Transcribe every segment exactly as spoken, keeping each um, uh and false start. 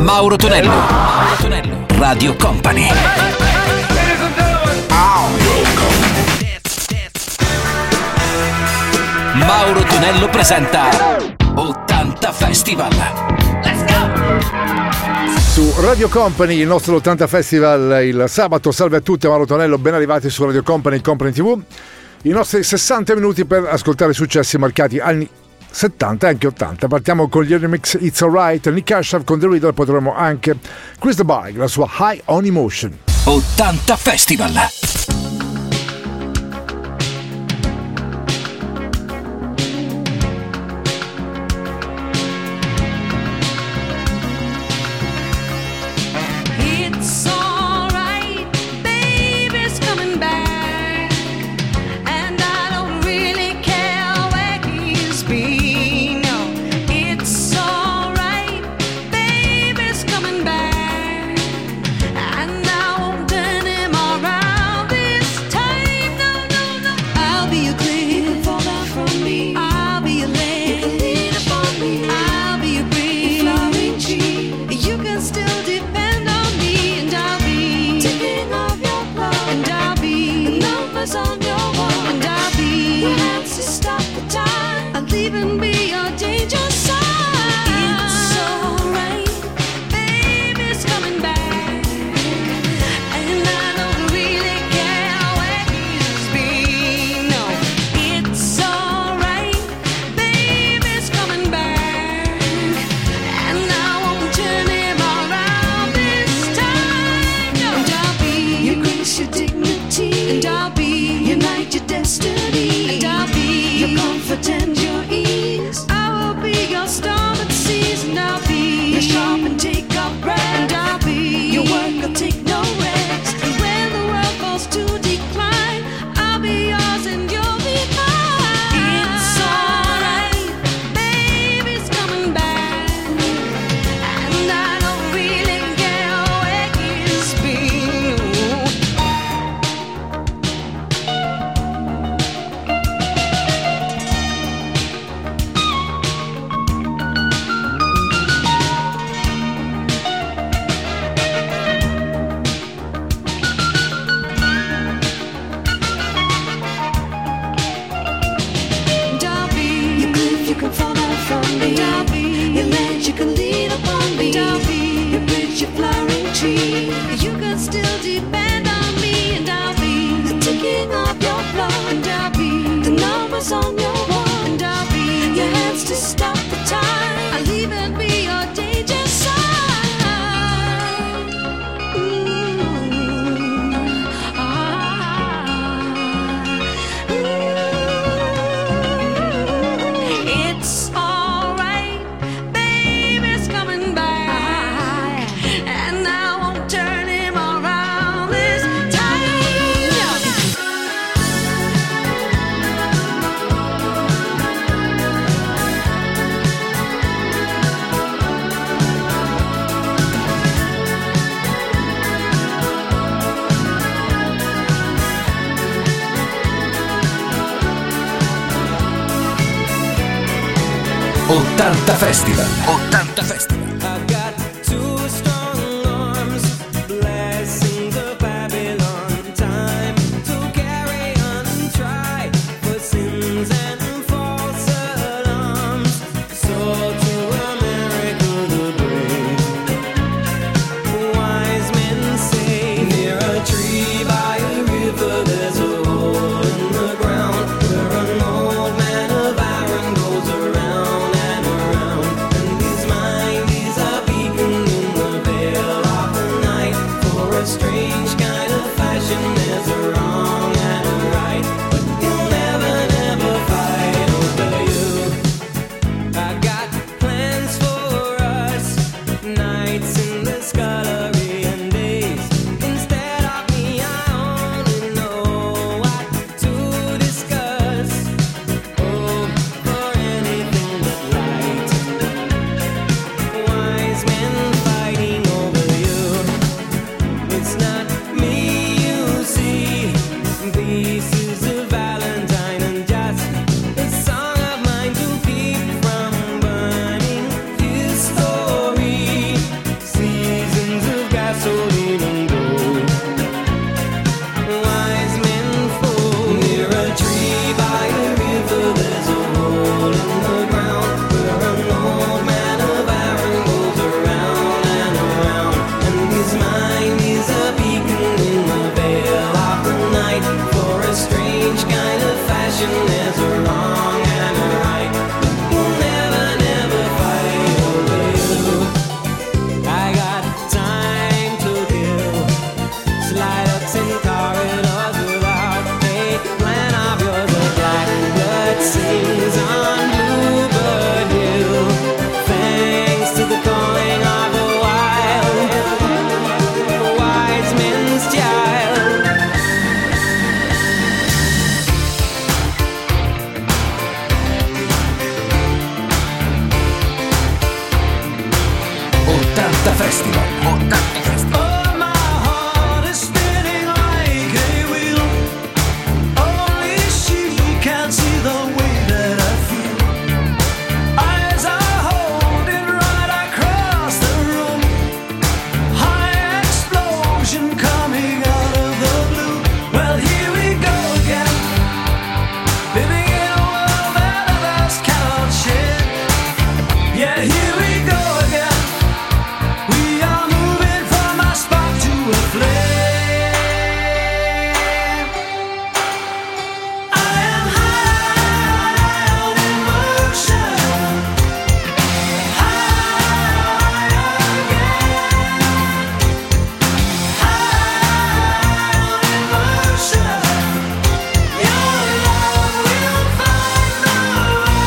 Mauro Tonello. Mauro Tonello. Radio Company. Mauro Tonello presenta ottanta Festival. Let's go! Su Radio Company, il nostro ottanta Festival il sabato. Salve a tutti, Mauro Tonello, ben arrivati su Radio Company, Company tivù. I nostri sessanta minuti per ascoltare successi marcati anni settanta e anche ottanta. Partiamo con gli remix It's Alright, Nick Ashaf con The Riddle, poi troviamo anche Chris the Bike, la sua High on Emotion. ottanta Festival. ottanta Festival. ottanta Festival. Mind is ottanta Festival. ottanta Festival. Oh, my heart is spinning like a wheel. Only she can see the way that I feel. Eyes are holding right across the room. High explosion coming out of the blue. Well, here we go again. Living in a world that others cannot share. Yeah, here we go again. We are moving from a spark to a flame. I am high on emotion. High again. High on emotion. Your love will find the way.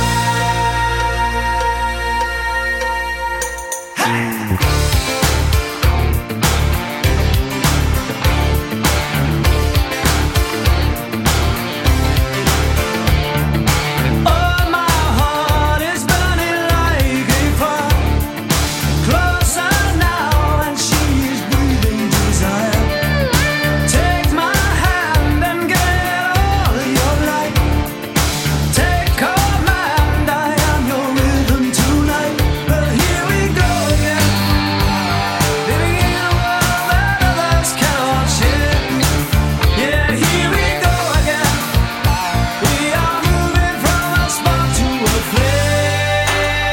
Oh, my heart is burning like a fire. Closer now, and she is breathing desire. Take my hand and get all your light. Take command, I am your rhythm tonight. Well, here we go again. Living in a world that others cannot share. Yeah, here we go again. We are moving from a spark to a flame.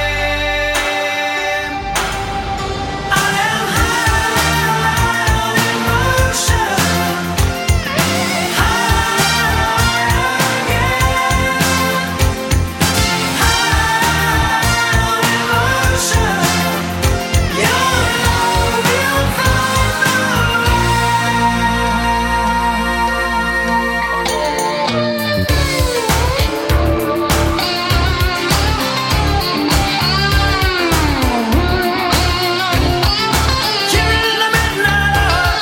I am high on emotion. High again. High on emotion. Your love will find the Here in the midnight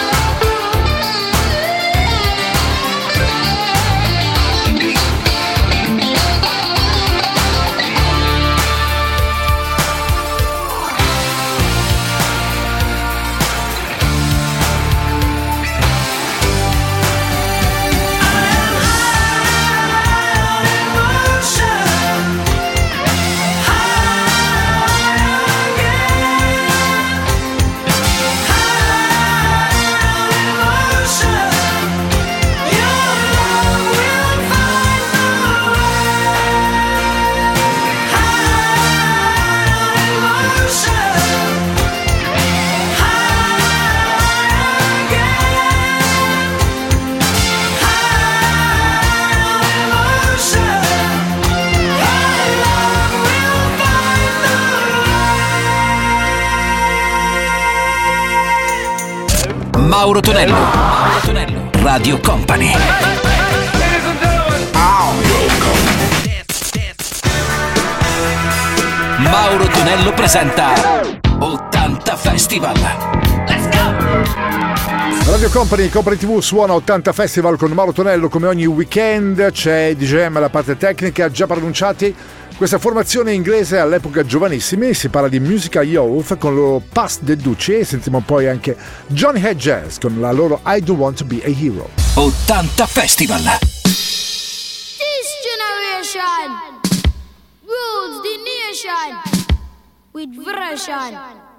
Mauro Tonello. Mauro Tonello. Radio Company. Mauro Tonello presenta ottanta Festival. Let's go! Radio Company, Company tivù suona ottanta Festival con Mauro Tonello. Come ogni weekend c'è D J M alla parte tecnica, già pronunciati. Questa formazione inglese all'epoca giovanissimi, si parla di Musical Youth con il loro Past the Ducci e sentiamo poi anche Johnny Hedges con la loro I Don't Want to Be a Hero. ottanta Festival. This generation rules the nation with version.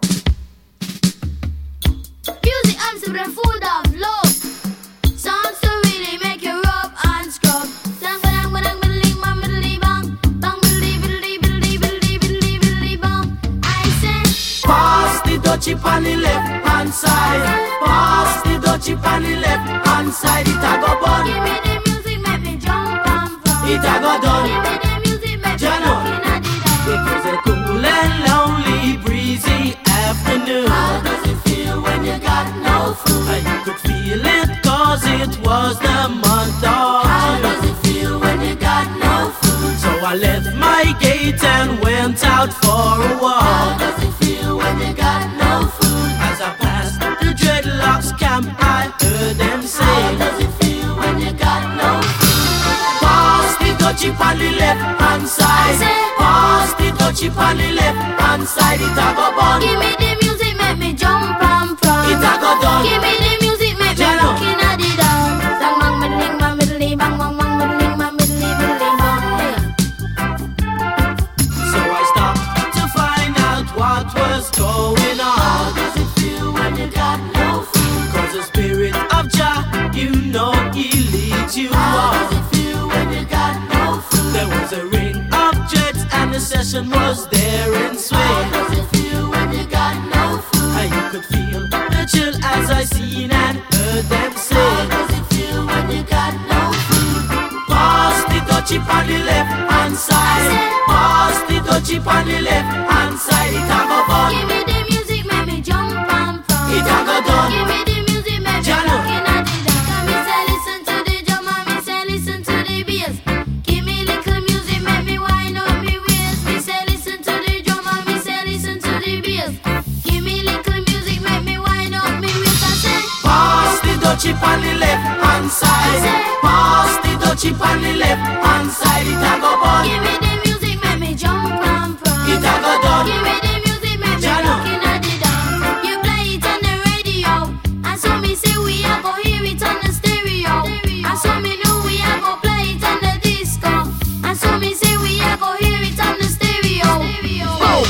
Music and the food of love. Songs to really make you rub and scrub. Dang, dang, dang, biddly, bang, biddly, bang. Bang, biddly, biddly, biddly, biddly, biddly, biddly, bang. I say, Pass the dutchie on the left hand side. Pass the dutchie on the left hand side. It a go bun. give me the music, make me jump and fun. It a go Give done. me the music, make me Jano. jump and It was a cool and lonely, breezy afternoon. How does it feel when you got no food? I could feel it cause it was the month of How June. does it feel when you got no food? So I left my gate and went out for a How walk. does it feel when you got no food? As I passed the dreadlocks camp, I heard them How say, does it feel when you got no food? pass the dutchie on the left hand side. I say, Pass the dutchie on the left hand side. It a go bun. give me the music, make session was there in swing. How does it feel when you got no food? And you could feel the chill as I seen and heard them How sing. does it feel when you got no food? Pass the dutchie on the left hand side. Pass the dutchie on the left hand side. It a go fun. Give me the music, make me jump and pump. It a go done. Give me the music, make me Jano. rockin' at the dance. Come me say listen to the drum and me say listen to the bass. Give me little music, make me wind up me waist. Me say listen to the drum and me say listen to the bass. Give me little music, make me wind up me waist. I say Pass the dutchie on the left hand side. Pass the dutchie on the left hand side. It a go fun. give me the music, make me jump and pump. It a go done. Give me the music, make me Jano. rockin' at the dance. You play it on the radio, and so me say we a go hear it on the stereo. And so me know we a go play it on the disco. And so me say we a go hear it on the stereo. Oh.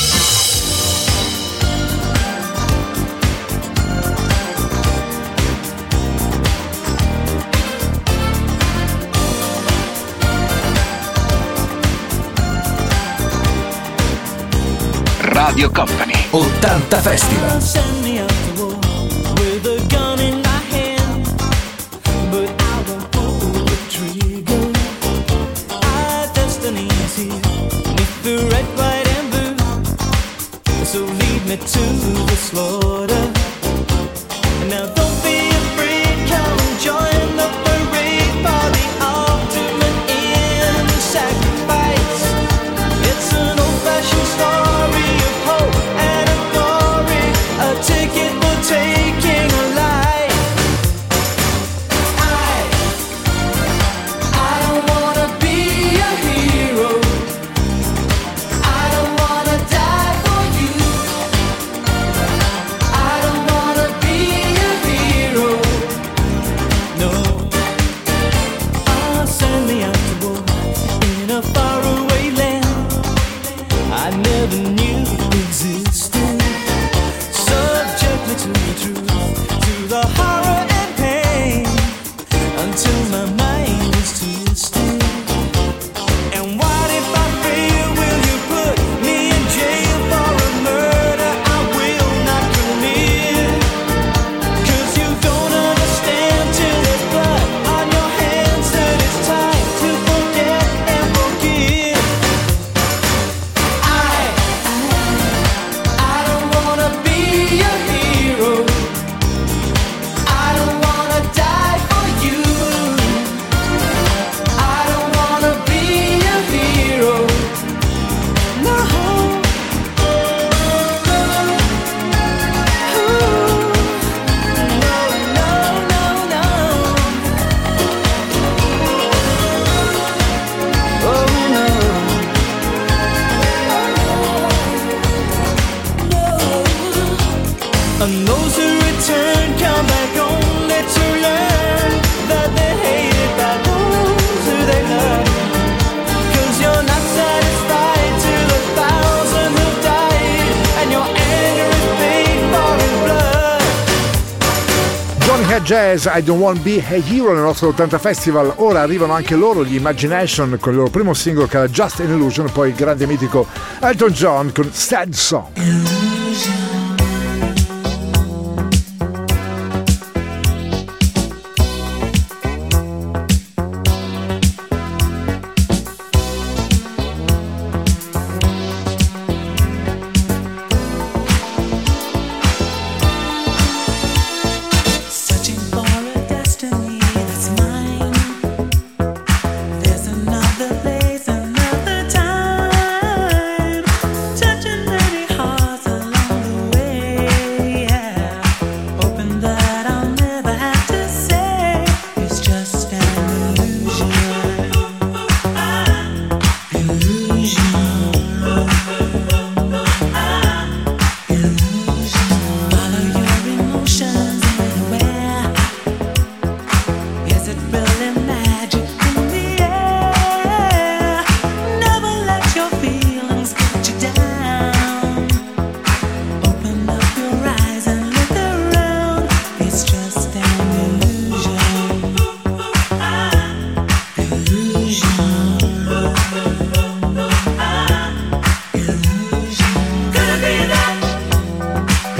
Radio Company ottanta Festival. Send me out to war with a gun in my hand, but I won't pull the trigger. Our destiny's here, beneath the red, white, and blue. So lead me to the slaughter. Now don't be afraid, come join the parade for the ultimate end sacrifice. It's an old-fashioned story of hope and of glory, a ticket for taking a life. I, I don't wanna be a hero. I don't wanna die for you. I don't wanna be a hero. No. Ah, send me out to war in a faraway land I never knew existed. Subject me to the truth, to the horror and pain, until my mind is twisted. And what if I fail? Will you put me in jail for a murder I will not commit? 'Cause you don't understand till there's blood on your hands that it's time to forget and forgive. I, I don't wanna be a hero. I don't wanna die for you. I don't wanna be a hero. No. No, no, no, no. Oh no. And those who return come back only to learn that they're hated by those who they love. 'Cause you're not satisfied to the thousand who died, and your anger is paid for in blood. Johnny Head Jazz, I Don't Want Be a Hero nel nostro ottanta Festival. Ora arrivano anche loro, gli Imagination, con il loro primo singolo che era Just an Illusion, poi il grande mitico Elton John con Sad Song. Searching for a destiny that's mine. There's another place, another time. Touching many hearts along the way.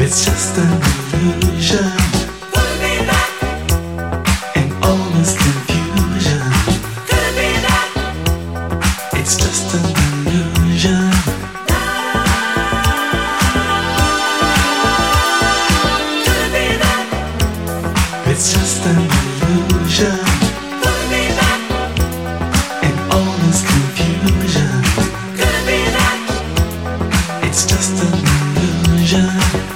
It's just an illusion. Could it be that? In all this confusion. Could it be that? It's just an illusion. Could it be that? It's just an illusion. Could it be that? In all this confusion. Could it be that? It's just an illusion.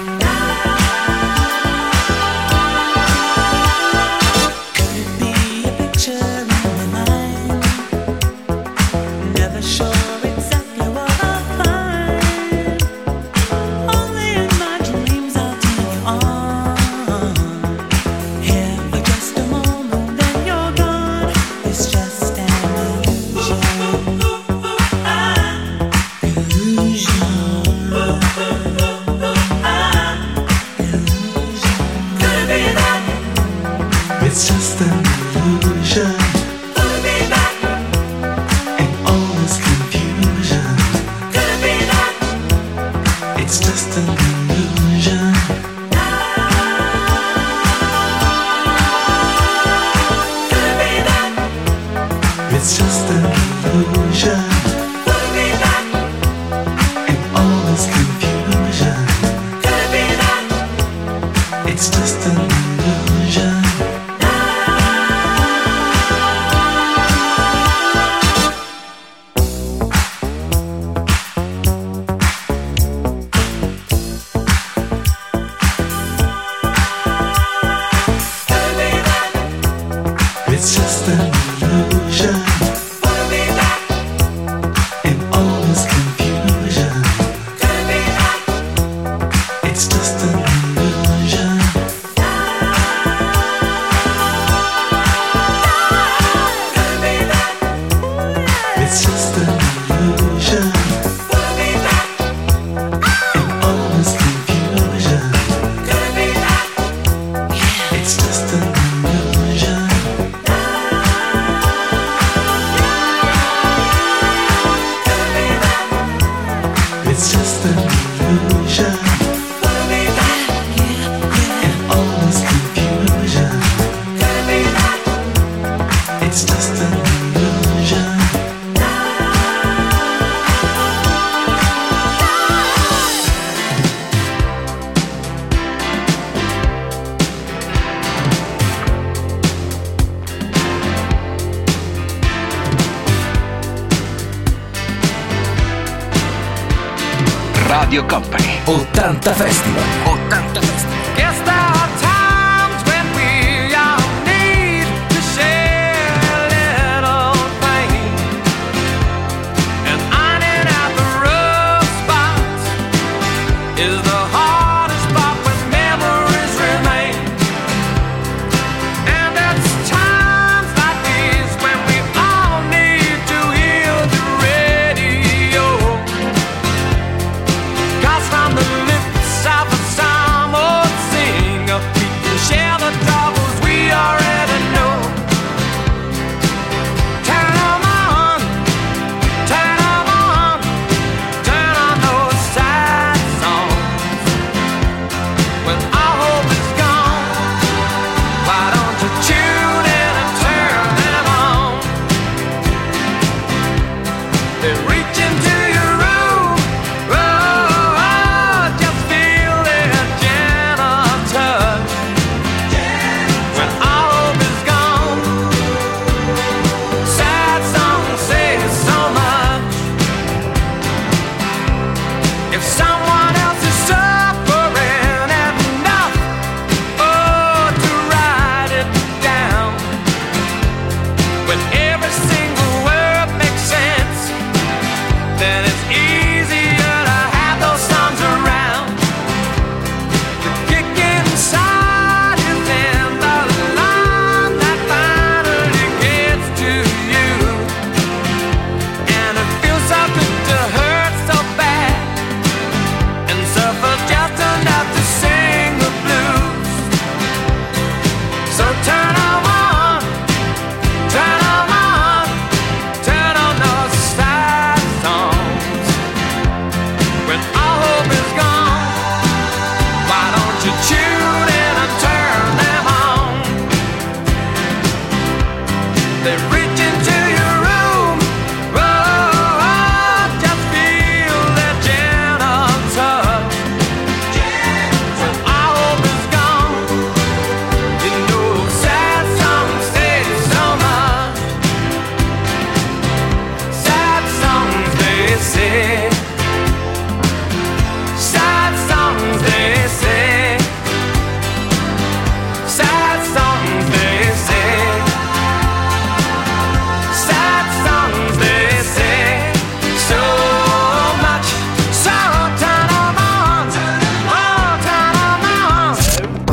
Could it be a picture in my mind? Never sure exactly what I'll find. Only in my dreams I'll take you on. Here for just a moment, then you're gone. It's just an illusion. Illusion. Could it be that? It's just an illusion. Could it be that? In all this confusion. Could it be that? It's just an illusion. Could it be that? It's just an illusion. Could it be that? In all this confusion. Could it be that? It's just an illusion. Could it be that? It's just an illusion. Could it be that? In all this confusion. Could it be that? It's just an illusion. Could it be that? It's just an illusion. Could it be that? In all this confusion. Could it be that? It's just an illusion. It's just an illusion. Could it be that? In all this confusion. Could it be that? It's just an illusion. Radio Company ottanta Festival. ottanta Festival. Guess there are times when we all need to share a little pain, and ironing out the rough spots is the hardest part when memories remain. And it's times like these when we all need to hear the radio. 'Cause from the lips of a some old singer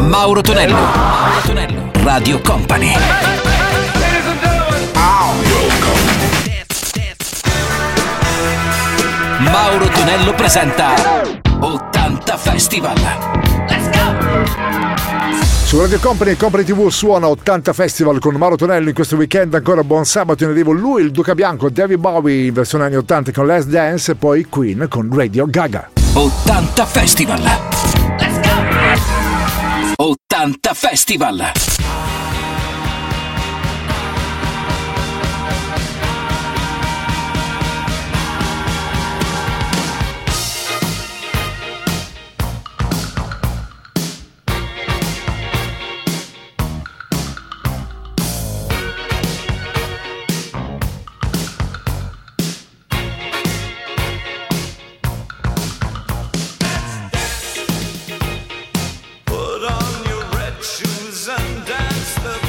Mauro Tonello. Mauro Tonello. Radio Company. Mauro Tonello presenta ottanta Festival. Let's go! Su Radio Company e Company tivù suona ottanta Festival con Mauro Tonello in questo weekend. Ancora buon sabato, in arrivo lui, il Duca Bianco, David Bowie in versione anni ottanta con Last Dance e poi Queen con Radio Gaga. ottanta Festival. Let's go! ottanta Festival. Put on your red shoes and dance the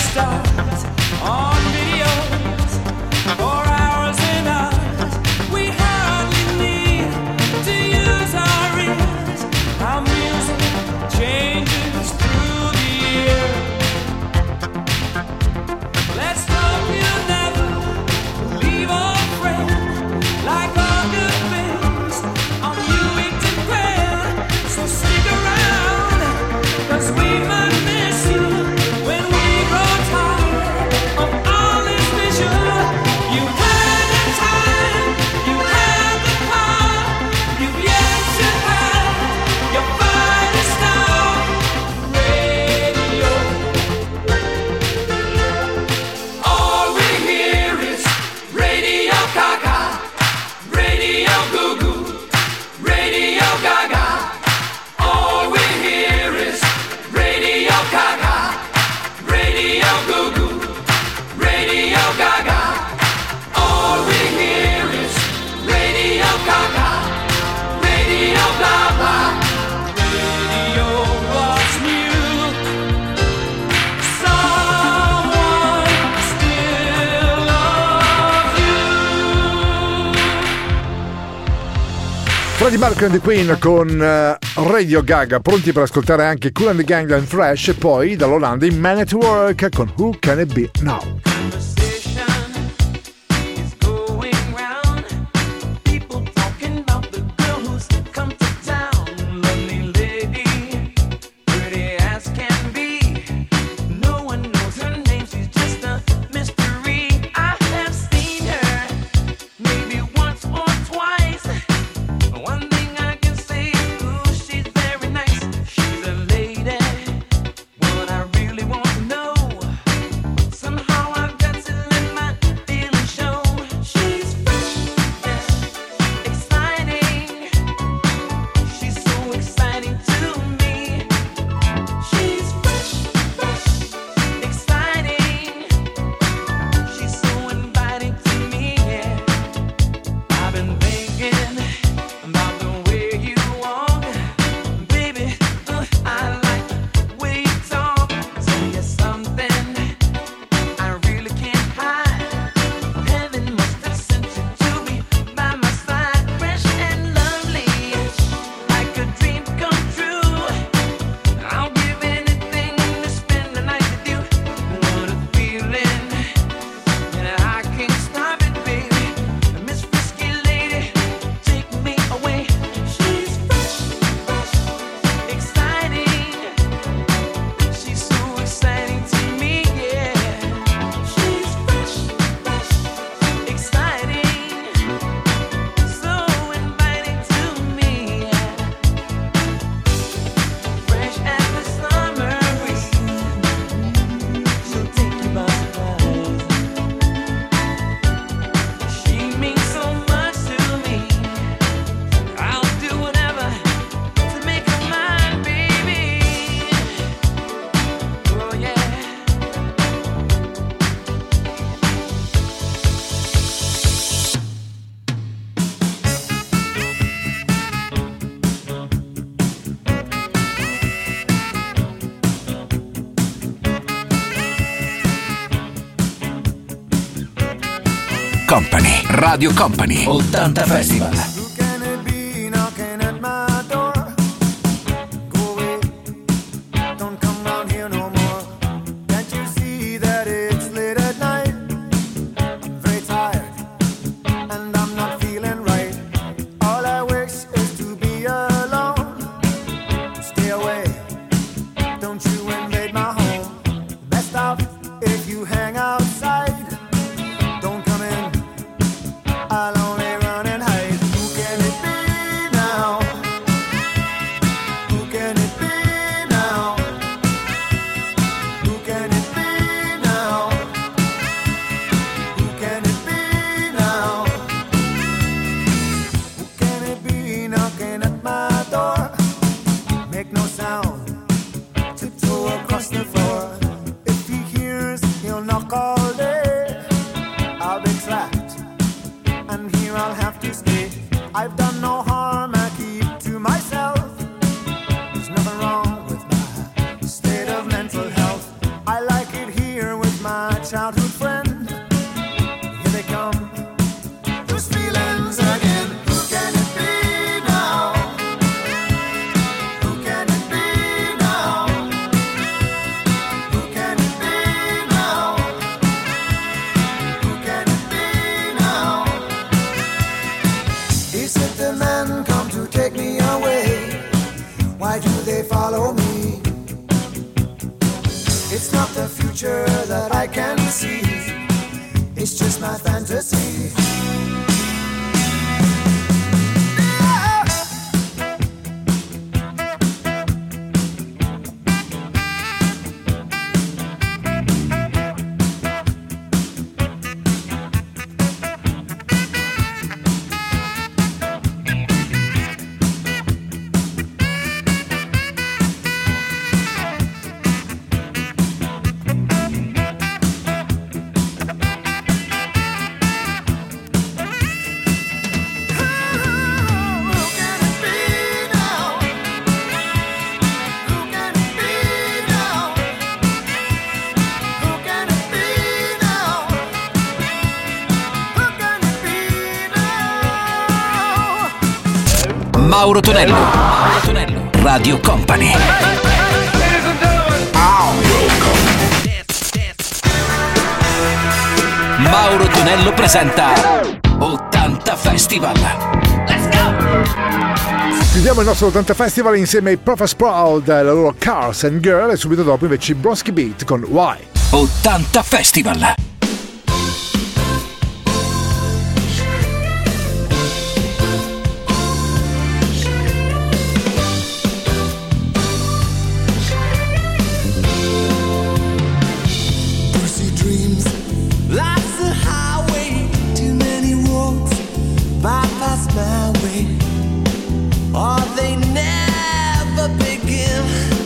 stars on videos for hours and hours. We hardly need to use our ears. Our music changes through the year. Let's hope you'll never leave our friend. Like all good things, on you we depend. So stick around, 'cause we might miss you when we grow tired of all this vision. You had the time, you had the power, you've yet to have your finest hour. Radio, all we hear is Radio Gaga, Radio Goo Goo, Radio Gaga. All we hear is Radio Gaga, Radio Goo Goo, Radio Gaga. All we hear is Radio Gaga, Radio blah blah. Radio was new. Someone still loves you. Freddie Mercury and the Queen con eh, Radio Gaga, pronti per ascoltare anche Kool and the Gang and Fresh, e poi dall'Olanda in Man at Work con Who Can It Be Now. Conversation is going round. People talking about the girl who's come to town. Lovely lady, pretty as can be. No one knows her name, she's just a mystery. I have seen her maybe once or twice. One thing I can say is, ooh, she's very nice. She's a lady. What I really want to know. Somehow I've got to let my feelings show. She's fresh, yeah, exciting. She's so exciting to me. She's fresh, fresh, exciting. She's so inviting to me, yeah. I've been thinking about the way you walk, baby. Uh, I like the way you talk. Tell you something I really can't hide. Heaven must have sent you to be by my side, fresh and lovely, like a dream come true. I'll give anything to spend the night with you. What a feeling, and I can't stop it, baby. Miss Frisky Lady, take me away. She's fresh, fresh, exciting. She's so exciting to me, yeah. She's fresh, fresh, exciting. So inviting to me, yeah. Fresh as the summer breeze, she'll take you by surprise. She means so much to me. I'll do whatever to make her mine, baby. Oh yeah. Company, Radio Company, ottanta Festival. Who can it be knocking at my door? Go away, don't come round here no more. Can't you see that it's late at night? I'm very tired, and I'm not feeling right. All I wish is to be alone. Stay away, don't you invade my home. Best off if you hang outside. Don't come in, I'll only run and hide. Who my childhood friend. Here they come, those feelings again. Who can it be now? Who can it be now? Who can it be now? Who can it be now? Is it the men come to take me away? Why do they follow me? It's not the future that I can see. It's just my fantasy. Mauro Tonello, Mauro Tonello, Radio Company. Mauro Tonello presenta ottanta Festival. Let's go! Chiudiamo il nostro ottanta Festival insieme ai Prophet Sprout, la loro Cars and Girl, e subito dopo invece i Bronski Beat con Why. ottanta Festival. Pussy dreams, life's a highway, too many roads, bypass my way, or they never begin.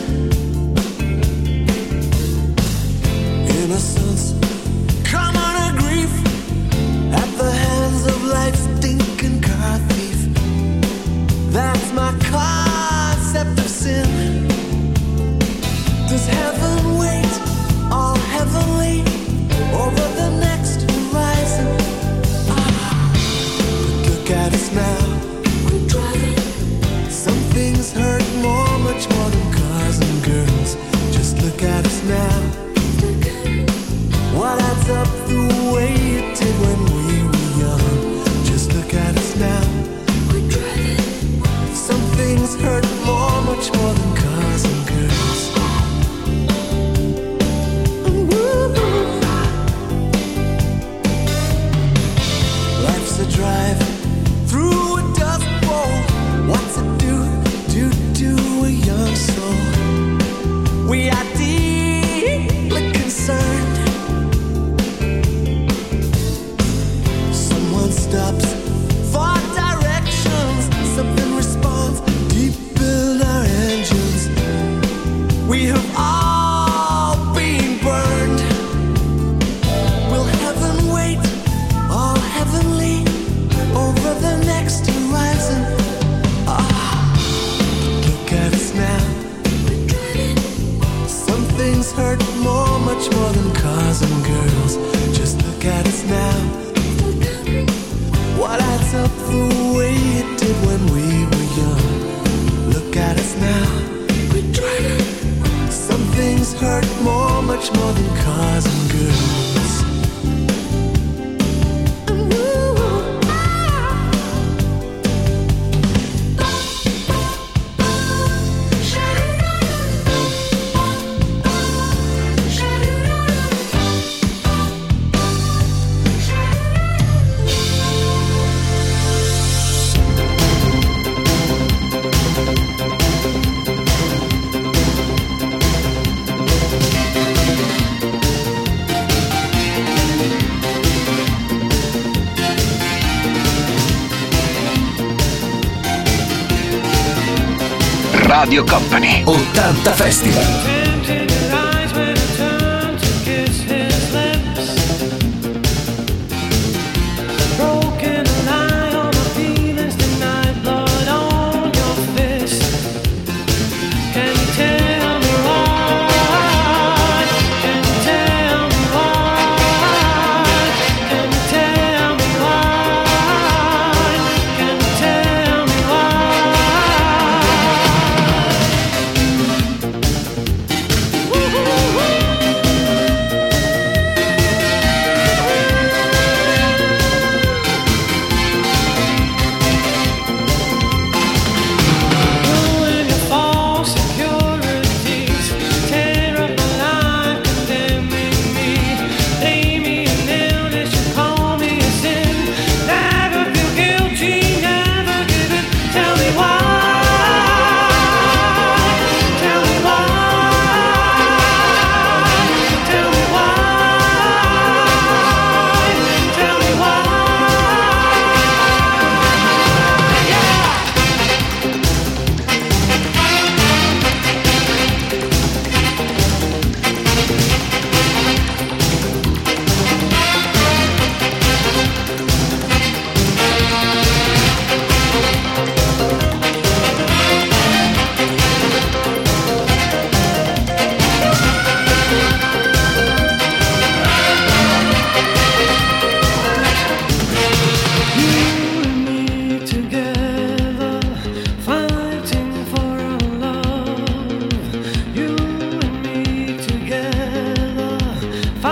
Innocence, common a grief, at the hands of life's stinking car thief. That's my concept of sin. Does heaven wait, all heavenly, over the next horizon? Ah, but look at us now. We're driving. Some things hurt more, much more than cars and girls. Just look at us now. What adds up the way it did when we were young? Just look at us now. We're driving. Some things hurt more, much more than cars and girls. Life's a drive through a dust bowl. What's it do, do, do a young soul? We are deeply concerned. Someone stops for directions. Something responds deep in our engines. We have all been burned. Will heaven wait, all heavenly, over the next horizon? Ah, look at us now. Some things hurt more, much more than cars and girls. Just look at us now. What adds up the way it did when we were young? Look at us now. Some things hurt more, much more than cars and girls. Radio Company, ottanta Festival. Tempted eyes when I turn to kiss his lips. Broken lie on my feelings tonight, blood on your fist. Can you tell me why? Can you tell me why?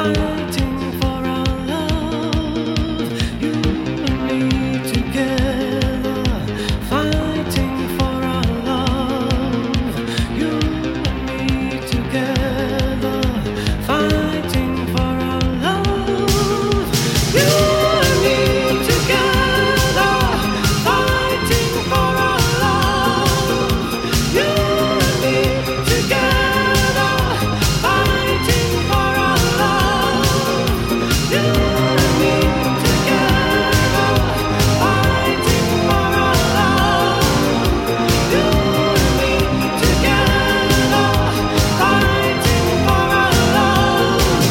fighting for our love. You and me together, fighting for our love. You and me together, fighting for our love. You and me together, fighting for our love. You and me together, fighting for our love. You and me together, fighting for our love. You and me together, fighting for our love.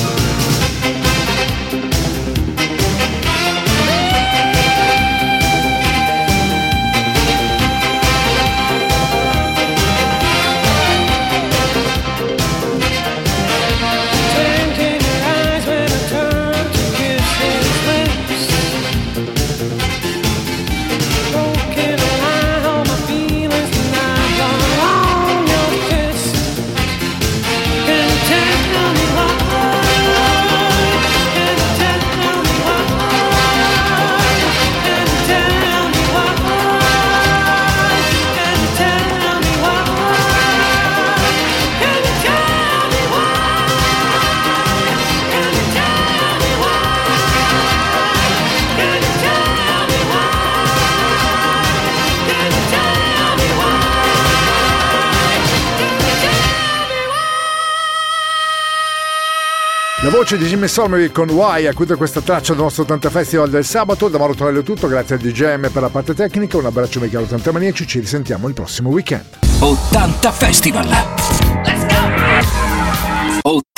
Twinkling your eyes when I turn to kiss his lips. Broken line on my feelings tonight, on your kiss. Can you tell me why? Can you tell me why? Can you tell me why? Can you tell me why? Can you tell me why? Can you tell me why? Can you tell me why? Can you tell me why? Can you tell me why? La voce di Jimmy Somerville con Why ha chiuso questa traccia del nostro ottanta Festival del sabato. Da Mauro Tonello è tutto, grazie al D J M per la parte tecnica, un abbraccio mica ottanta maniaci, ci risentiamo il prossimo weekend. ottanta Festival. Let's go!